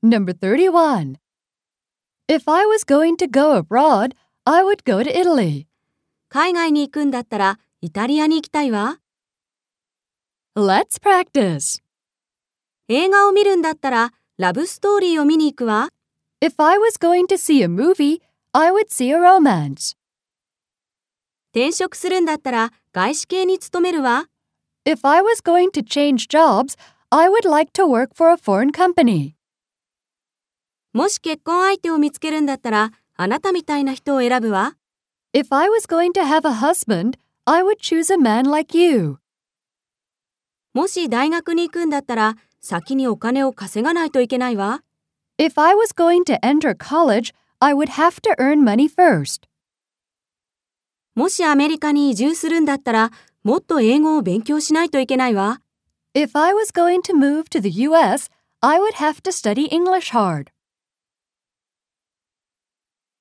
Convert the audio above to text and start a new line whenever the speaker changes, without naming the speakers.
Number 31. If I was going to go abroad, I would go to Italy.
海外に行くんだったらイタリアに行きたいわ。
Let's practice.
映画を見るんだったらラブストーリーを見に行くわ。
If I was going to see a movie, I would see a romance.
転職するんだったら外資系に勤めるわ。
If I was going to change jobs, I would like to work for a foreign company.
もし結婚相手を見つけるんだったらあなたみたいな人を選ぶわ。
If I was going to have a husband, I would choose a man like you.
もし大学に行くんだったら先にお金を稼がないといけないわ。
If I was going to enter college, I would have to earn money first.
もしアメリカに移住するんだったらもっと英語を勉強しないといけないわ。
If I was going to move to the US, I would have to study English hard.